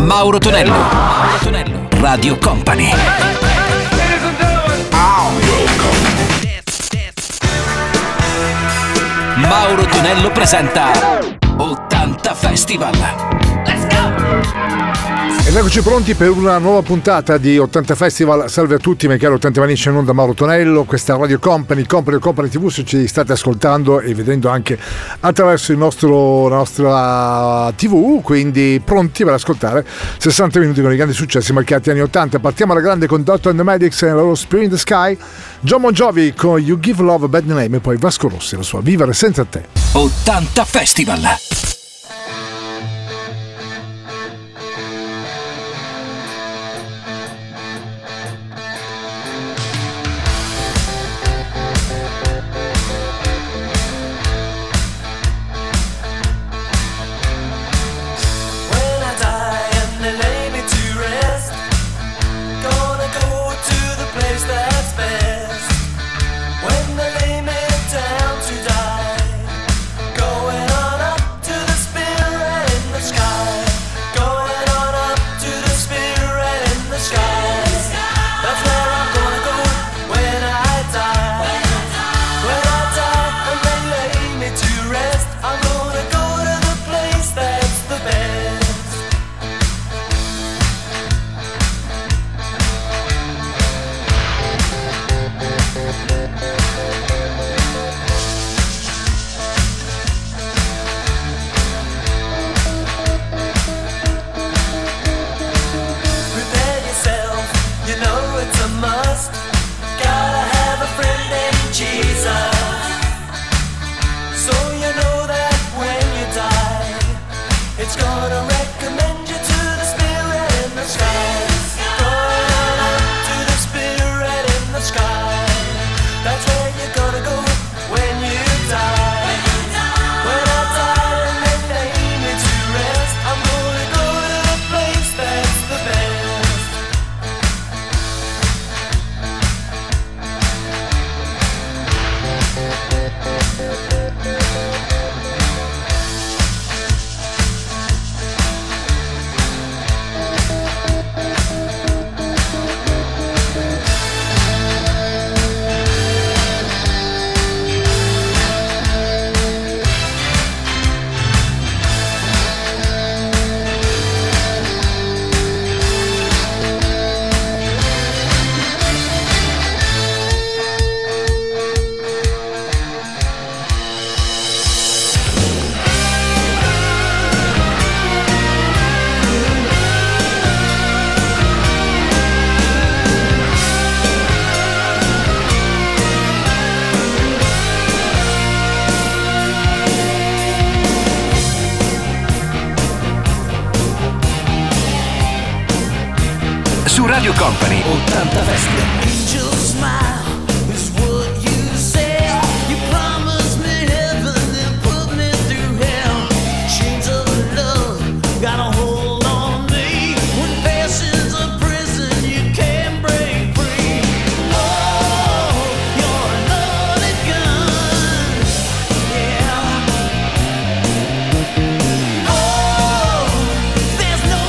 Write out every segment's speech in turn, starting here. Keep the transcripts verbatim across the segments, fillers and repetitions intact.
Mauro Tonello. Mauro Tonello. Radio Company. Mauro Tonello presenta ottanta Festival. Let's go! Ed eccoci pronti per una nuova puntata di ottanta Festival. Salve a tutti, miei cari ottanta Manici, in onda Mauro Tonello. Questa è Radio Company, Company Company tivù, se ci state ascoltando e vedendo anche attraverso il nostro, la nostra tivù, quindi pronti per ascoltare sessanta minuti con i grandi successi marcati anni ottanta. Partiamo alla grande con Doctor and the Medics e la loro Spirit in the Sky, John Bon Jovi con You Give Love a Bad Name e poi Vasco Rossi, la sua Vivere senza te. ottanta Festival. Radio Company ottanta Festival.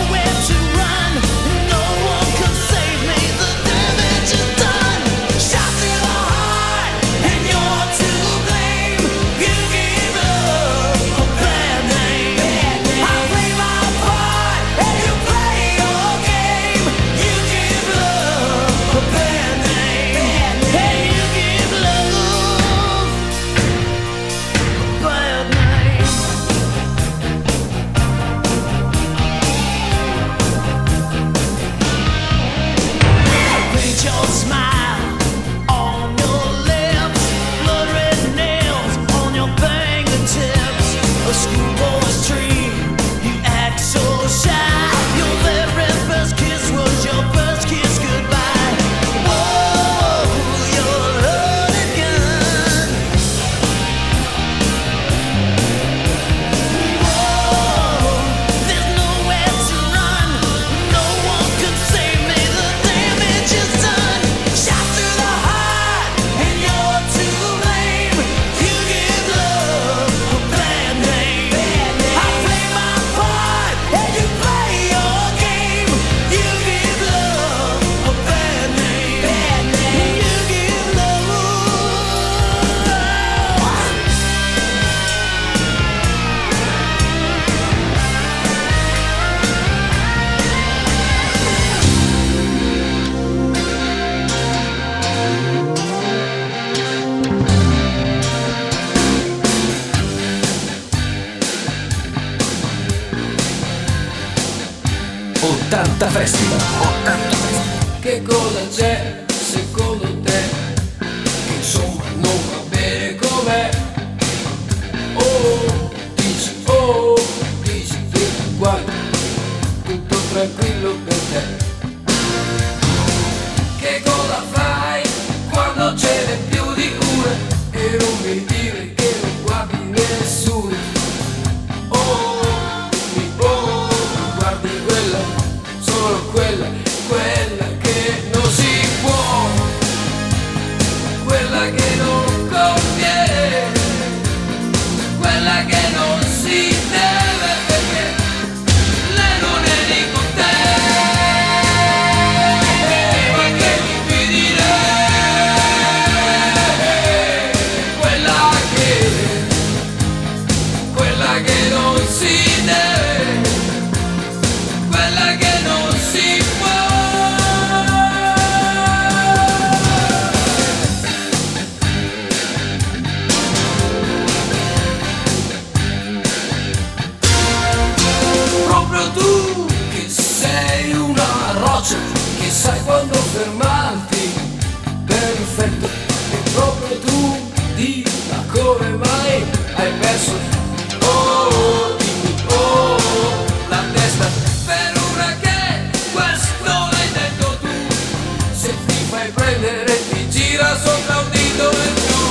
Shot ottanta Festival. ottanta Festival. Che cosa c'è secondo te? Che insomma non va bene com'è. Oh, dici, oh, dici tu, guarda, tutto tranquillo per te. Che cosa fai quando ce n'è più di una? E non mi dire che non guardi nessuno. Oh, mi, oh, guardi quella, solo quella, quella che non si può, quella che non conviene, quella che non si deve, perché lei non è lì con te. Ma che mi fidi lei, quella che, quella che non si deve, quella che non si può. Proprio tu che sei una roccia, che sai quando fermarti, perfetto. E proprio tu di ma come mai hai perso, oh, dimmi, oh, la testa per una che questo l'hai detto tu. Se ti fai prendere ti gira sopra un dito e tu,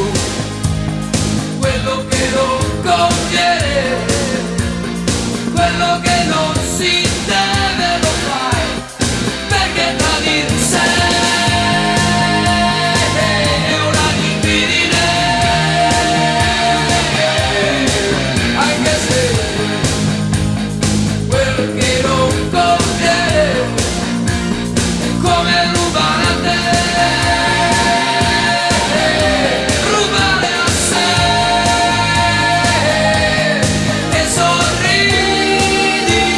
quello che non conviene, quello che non si deve lo fai, perché tradire sei è un'abitudine, anche se quello che non conviene è come rubare a te, rubare a sé e sorridi.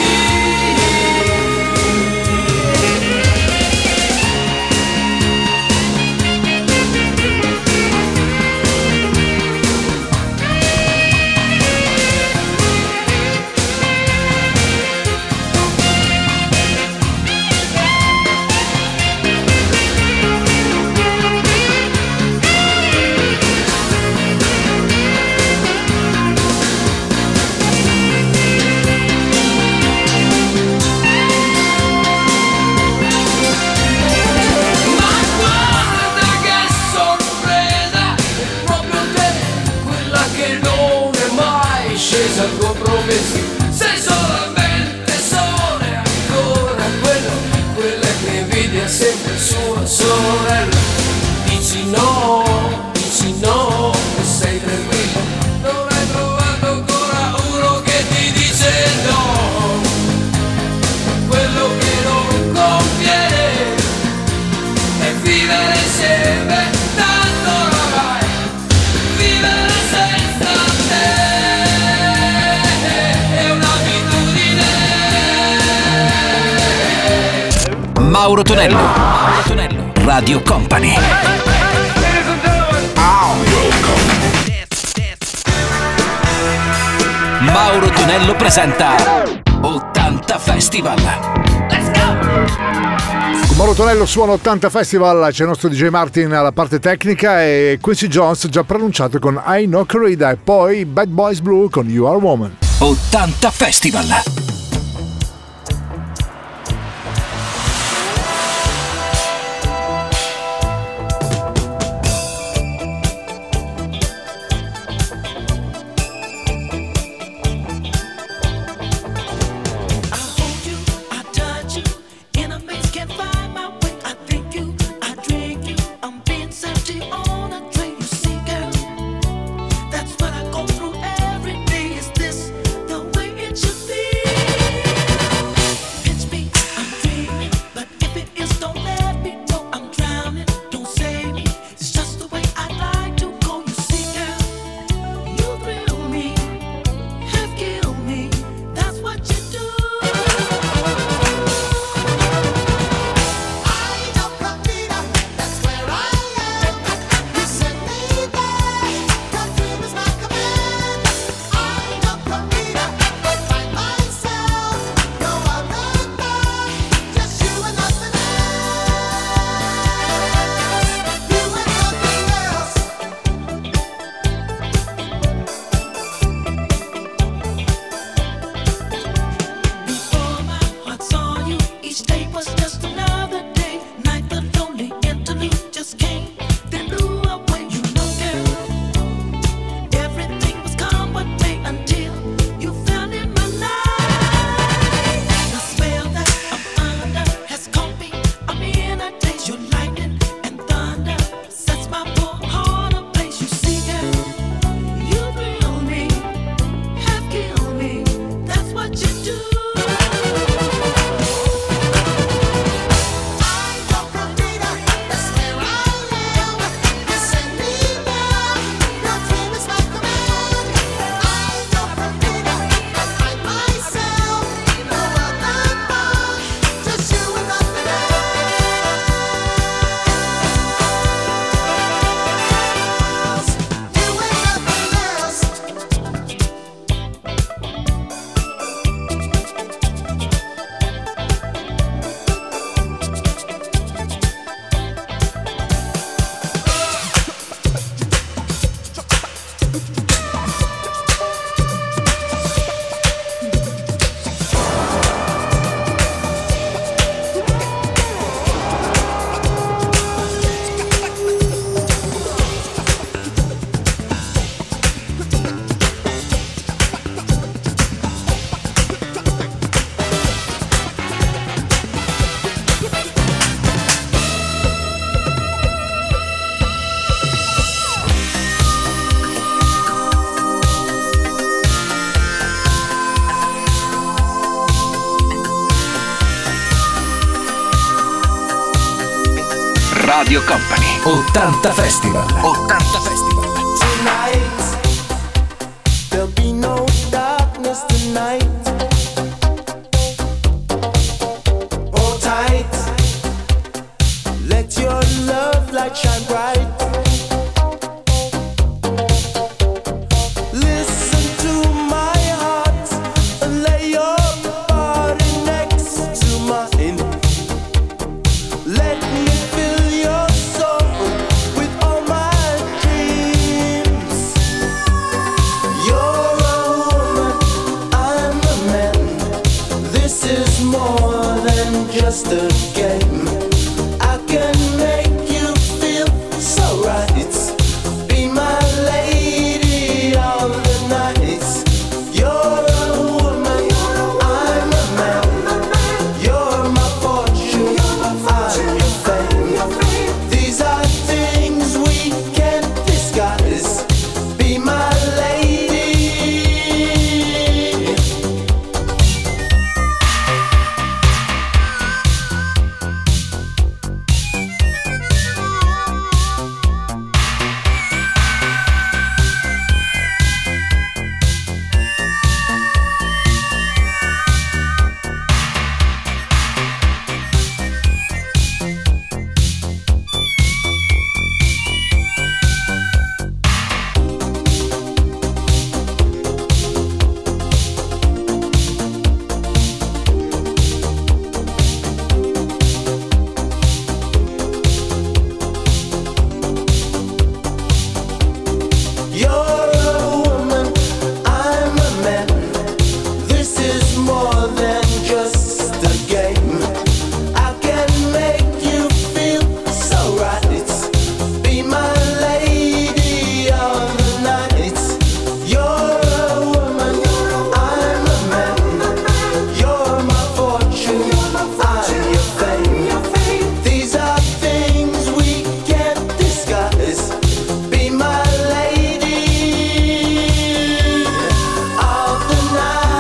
Ma guarda che sorpresa, è proprio te, quella che non è mai scesa al compromesso. Sei solamente sole ancora, quella, quella che invidia sempre sua sorella. Dici no, dici no, e sei tranquilla, non hai trovato ancora uno che ti dice no. Quello che non conviene è vivere insieme, tanto oramai vivere senza te è un'abitudine. Mauro Tonello. Mauro Tonello. Radio Company. Mauro Tonello presenta ottanta Festival. Let's go! Con Mauro Tonello suona ottanta Festival, c'è il nostro D J Martin alla parte tecnica e Quincy Jones già pronunciato con I Know Corrida e poi Bad Boys Blue con You Are Woman. ottanta Festival. I hold you, I touch you, in a maze can't find my way. I think you, I drink you, I'm being searchy on a train. You see, girl, that's what I go through every day. Is this the way it should be? Radio Company. ottanta Festival. ottanta Festival. Tonight, there'll be no darkness tonight. Hold tight, let your love light shine bright. Listen to my heart and lay your body next to mine. Let me fill your soul with all my dreams. You're a woman, I'm a man. This is more than just a game. I can make you feel so right. Be my lady of the night. You're a woman, I'm a man. You're my fortune, I'm your fame. These are things we can't disguise. Be my lady. You're a woman, I'm a man. This is more than just a game. I can make you feel so right. Be my lady of the night. You're a woman, I'm a man. You're my fortune, I'm your fame. These are things we can't disguise. Be my lady of the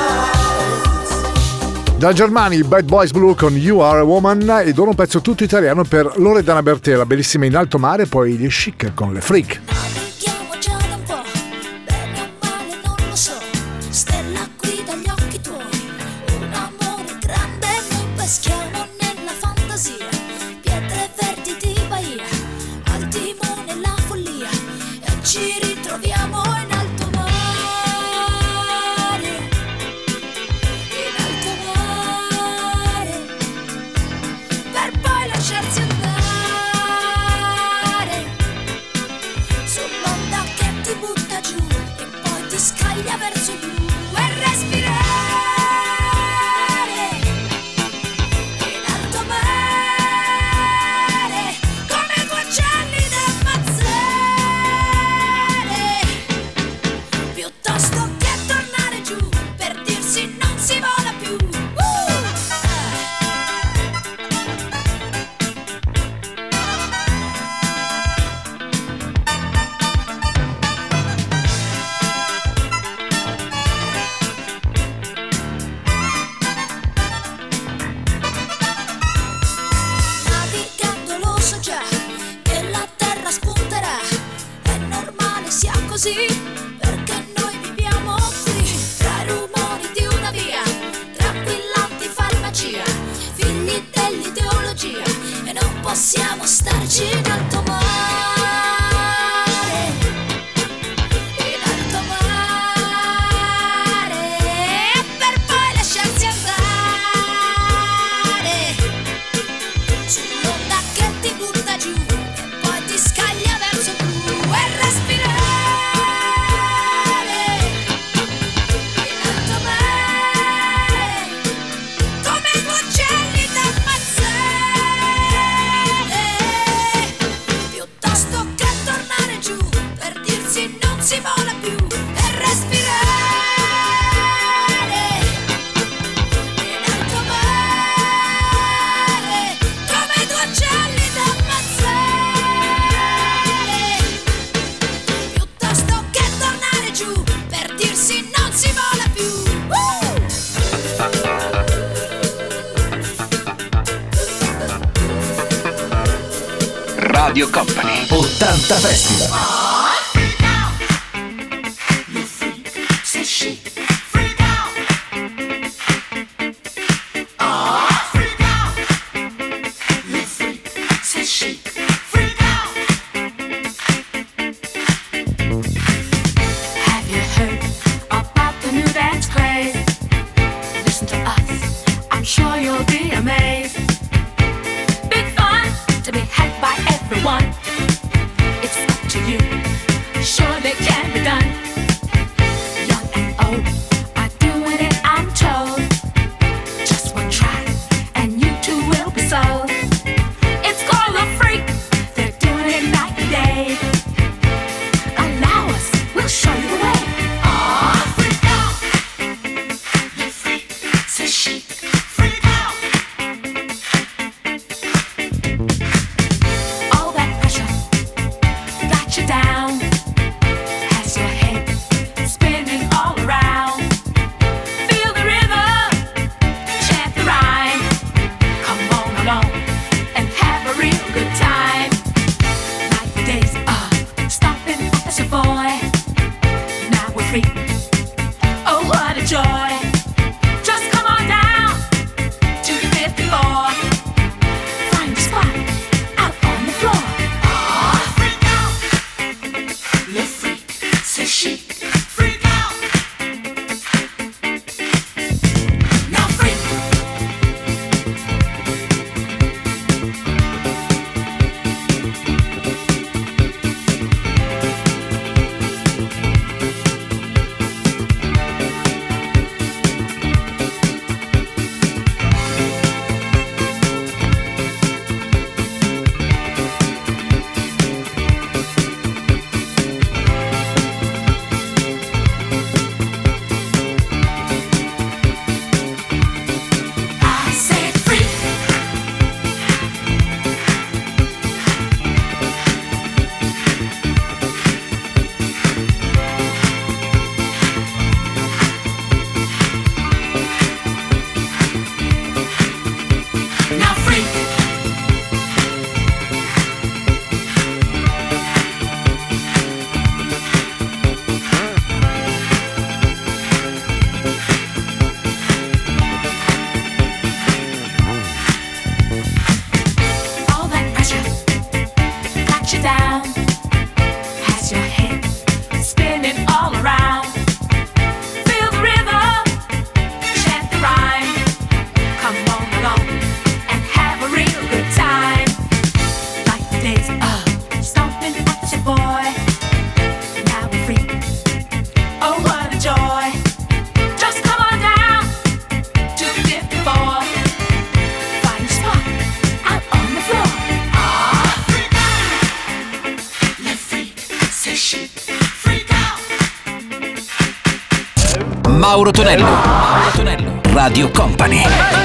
night. Da Germani, Bad Boys Blue con You Are a Woman, ed ora un pezzo tutto italiano per Loredana Bertè, bellissima In alto mare, poi gli Chic con Le Freak. Navighiamo già da un po', bene o male non lo so. Stella qui dagli occhi tuoi, un amore grande, noi peschiamo nella fantasia. Pietre verdi di Bahia, al timone la follia, e ci ritroviamo in alto mare. In alto mare, per poi lasciarsi andare sull'onda che ti butta giù e poi ti scaglia verso il blu e respirare in alto mare come due uccelli da ammazzare, piuttosto che tornare giù per dirsi non si vola più. Uh! Navigando lo so già che la terra spunterà, è normale sia così, perché noi viviamo qui, tra i rumori di una via, tranquillanti farmacia, figli dell'ideologia, e non possiamo starci in alto mare. In alto mare, per poi lasciarsi andare sull'onda che ti butta giù e poi ti scaglia verso il blu e respirare in alto mare come due uccelli da ammazzare. Radio Company ottanta Festival. Mauro Tonello, Mauro Tonello, Radio Company.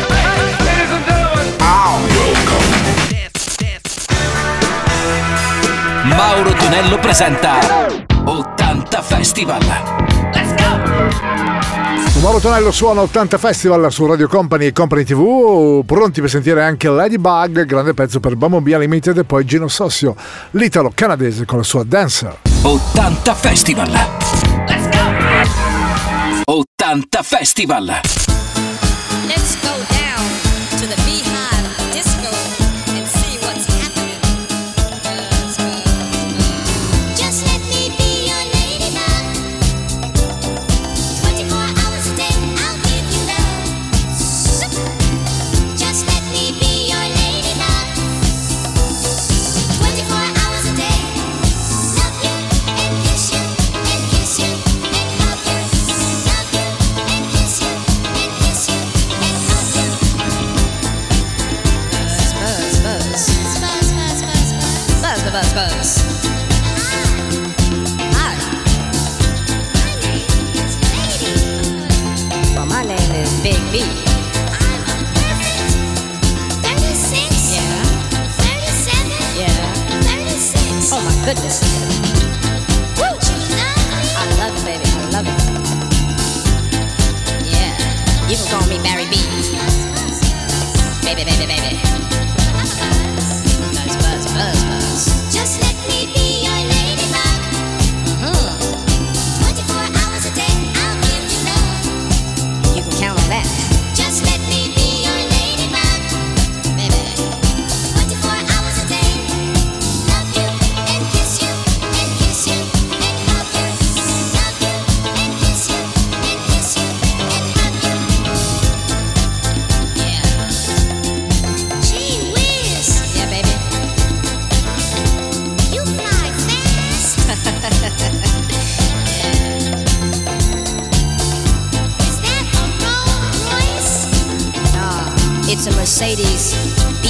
Mauro Tonello presenta ottanta Festival. Let's go! Mauro Tonello suona ottanta Festival su Radio Company e Company tivù, pronti per sentire anche Ladybug, grande pezzo per Bumblebee Unlimited, e poi Gino Sossio, l'italo canadese con la sua Dancer. ottanta Festival. Let's go! ottanta Festival. Let's go down to the Beehive Disco and see what's happening. Buzz, buzz, buzz. Just let me be your ladybug. twenty-four hours a day, I'll give you love. Just let me be your ladybug. twenty-four hours a day, love you and kiss you and kiss you and hug you. Love you and kiss you and kiss you and hug you. Buzz, buzz, buzz. Buzz, buzz, buzz, buzz. Buzz, buzz, buzz. Hi. My name is Lady. Well, my name is Big B. I'm a perfect thirty-six. Yeah. thirty-seven. Yeah. thirty-six. Oh my goodness. Won't you love me? I love it, baby. I love it. Yeah. You can call me Barry B. Baby, baby, baby. Buzz, buzz, buzz, buzz. It's a Mercedes B.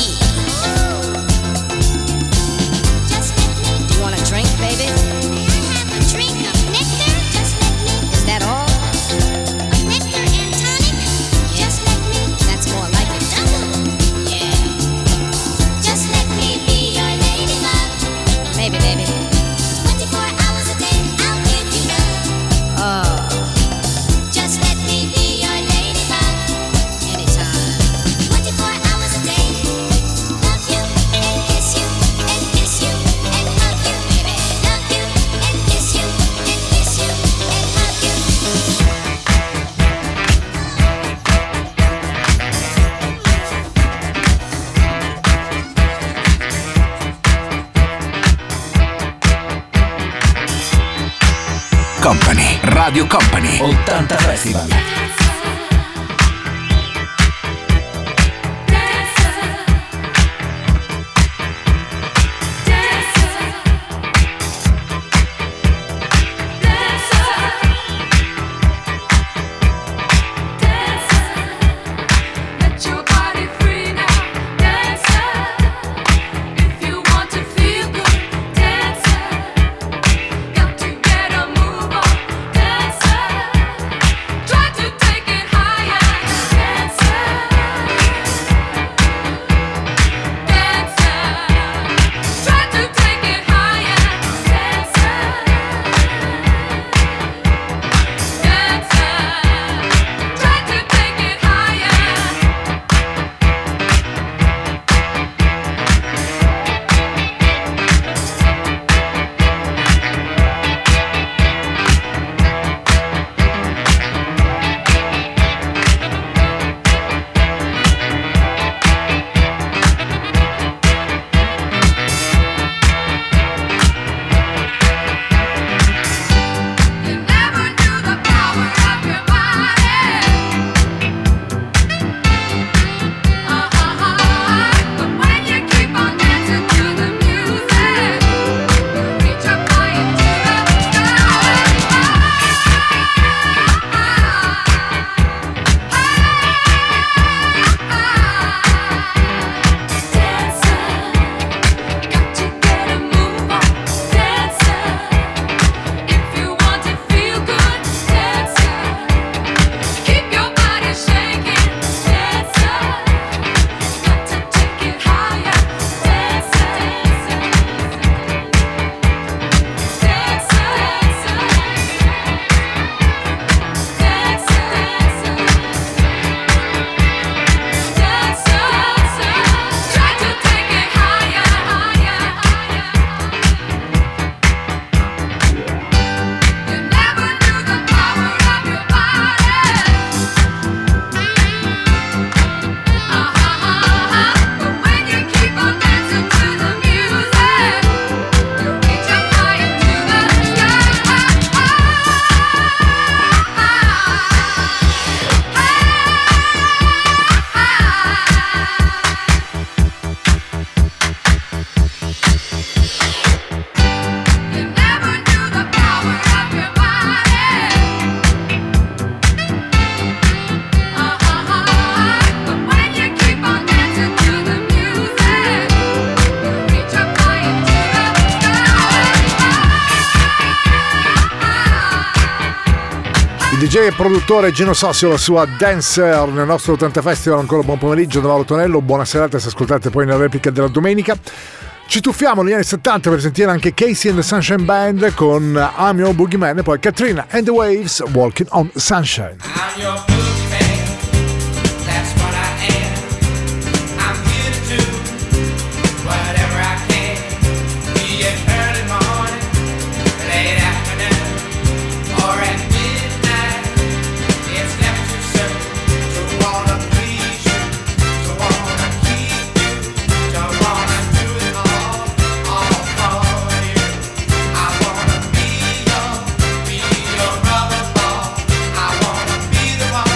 Do you want a drink, baby? May I have a drink of nectar? Just let me. Is that all? Of nectar and tonic? Just let me. That's more like it. Double. Yeah. Just let me be your ladybug. Maybe, baby. twenty-four hours a day, I'll give you love. Oh, Just let me be your ladybug. anytime. twenty-four hours a day. Love you and kiss you and kiss you and hug you, baby. Love you and kiss you and kiss you and hug you. Company, Radio Company, ottanta Festival. Let your body free now, dancer. If you want to feel good, dancer. Got to get a move on, dancer. Try to take it higher, dancer. Dancer. Try to take it higher, dancer. Dancer. Try to take it higher. You never knew the power of your body. Uh-huh. But when you keep on dancing to the music, you reach up high into the sky. Got to get a move on, dancer. If you want to feel good, dancer. Keep your body shaking, dancer. Got to take it higher, dancer. Dancer, dancer, dancer. Try to take it higher, higher, higher. You never knew the power of your body. Uh-huh. But when you keep on dancing to the music, you reach up high into the sky. You never knew the power of your body. Uh-huh. But when you keep on dancing to the music, you reach up high into the sky. Il D J e produttore Gino Sossio, la sua Dancer nel nostro ottanta Festival. Ancora buon pomeriggio da Mauro Tonello, buona serata se ascoltate poi nella replica della domenica. Ci tuffiamo negli anni settanta per sentire anche Casey and the Sunshine Band con I'm Your Boogeyman e poi Katrina and the Waves, Walking on Sunshine. I'm your boogeyman. That's what I am. I'm here to do whatever I can. Be it early morning, late afternoon, or at midnight. It's never too soon to wanna please you, to wanna keep you, to wanna do it all, all for you. I wanna be your, be your rubber ball. I wanna be the one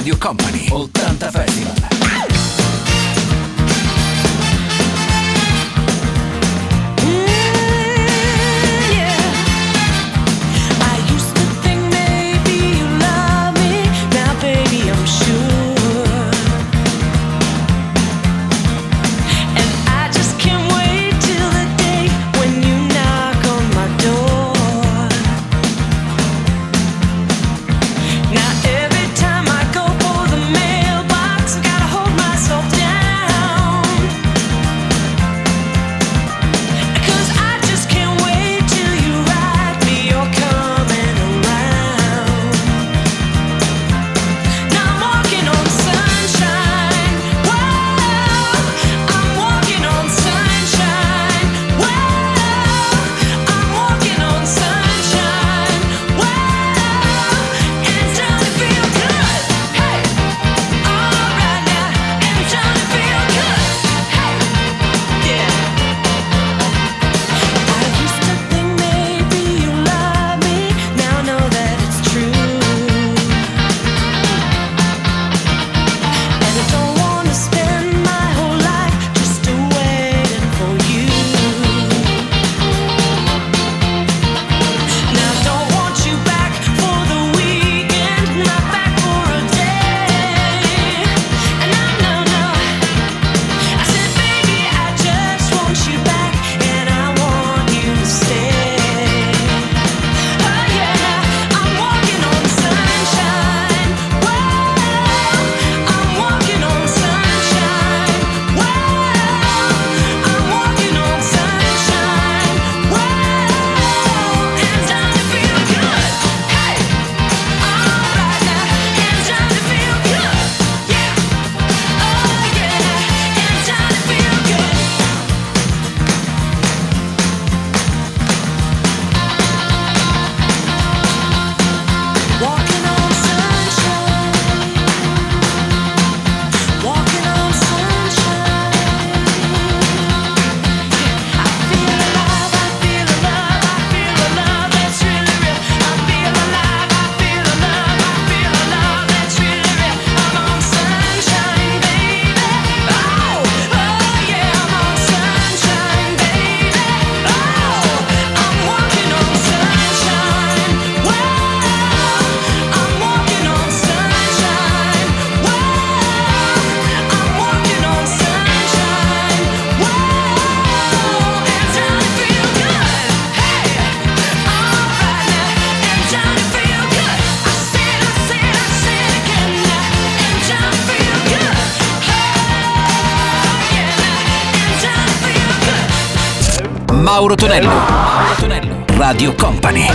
Radio Company ottanta Festival. Mauro Tonello, Mauro Tonello, Radio Company.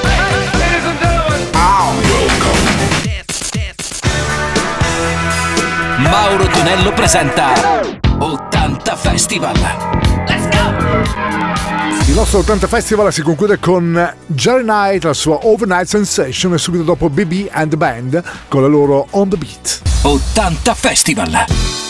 Mauro Tonello presenta ottanta Festival. Let's go! Il nostro ottanta Festival si conclude con Jerry Knight, la sua Overnight Sensation, e subito dopo B B and the Band con la loro On the Beat. ottanta Festival.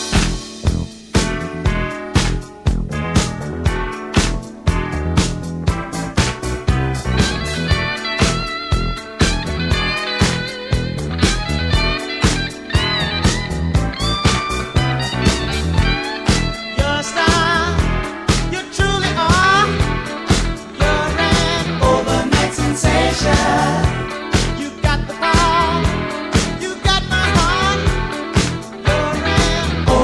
You got the power, you got my heart, you're an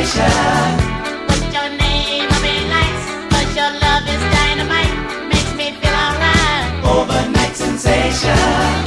sensation. What's your name? I'll be nice. 'Cause your love is dynamite. Makes me feel alright. Overnight sensation.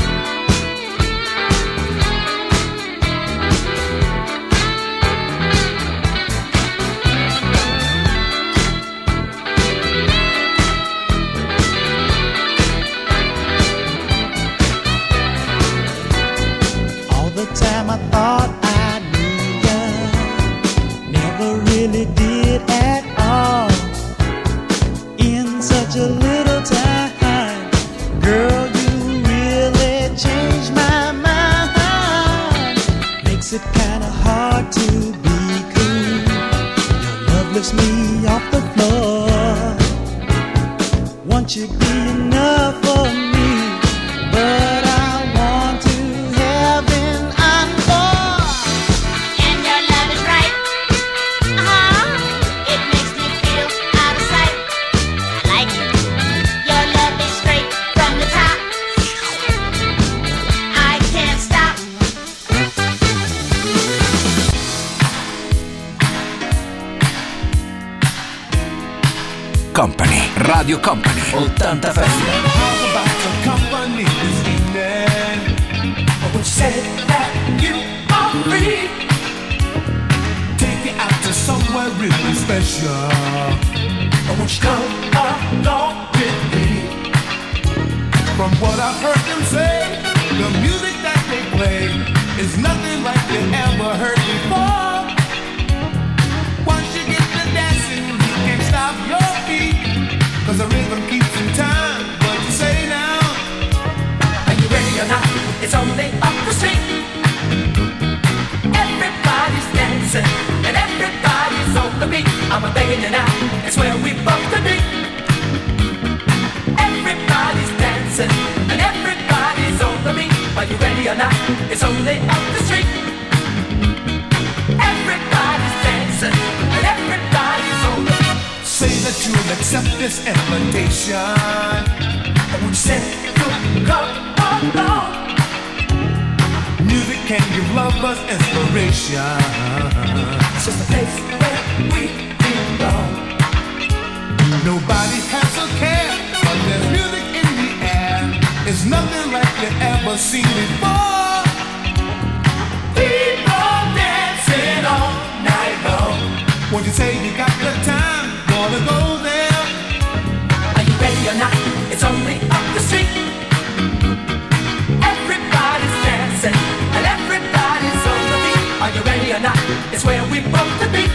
All the time I thought I knew you, never really did at all. In such a little time, girl, you really changed my mind. Makes it kinda hard to be cool. Your love lifts me off the floor. Won't you be enough for me? But I want to heaven and more. And your love is right. Uh-huh. It makes me feel out of sight. I like it. Your love is straight from the top. I can't stop. Company, Radio Company, ottanta Festival. How about the company this evening? When you said that you are free, take you out to somewhere really special. Won't you come along with me? From what I've heard them say, the music that they play is nothing like you ever heard before. Once you get to dancing, you can't stop your feet, 'cause the rhythm keeps in time. What you say now? Are you ready or not? It's only up the street. Everybody's dancing and everybody's on the beat. I'm a begging you now, it's where we both to be. Everybody's dancing and everybody's on the beat. Are you ready or not? It's only up the street. Everybody's dancing and everybody's on the beat. Say that you'll accept this invitation. And when you say you'll come along, music can give lovers inspiration. It's just a place where we belong. Nobody has a care, but there's music in the air. It's nothing like you ever seen before. People dancing all night long. Won't you say you got the time? Wanna go there? Are you ready or not? It's only up the street. Everybody's dancing and everybody's on the beat. Are you ready or not? It's where we both to be.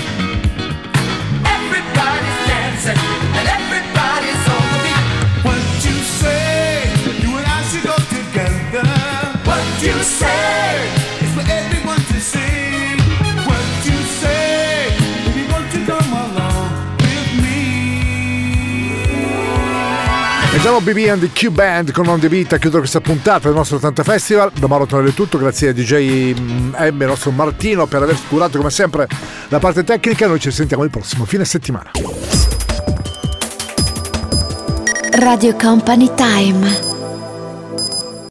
Everybody's dancing and everybody's on the beat. What you say? You and I should go together. What you say? It's for everyone to see. What you say? Baby, won't you come along with me? E già B B and the Q Band con On The Beat a chiudere questa puntata del nostro ottanta Festival. Da Mauro Tonello è tutto, grazie a D J M, il nostro Martino, per aver curato come sempre la parte tecnica. Noi ci sentiamo il prossimo fine settimana. Radio Company Time.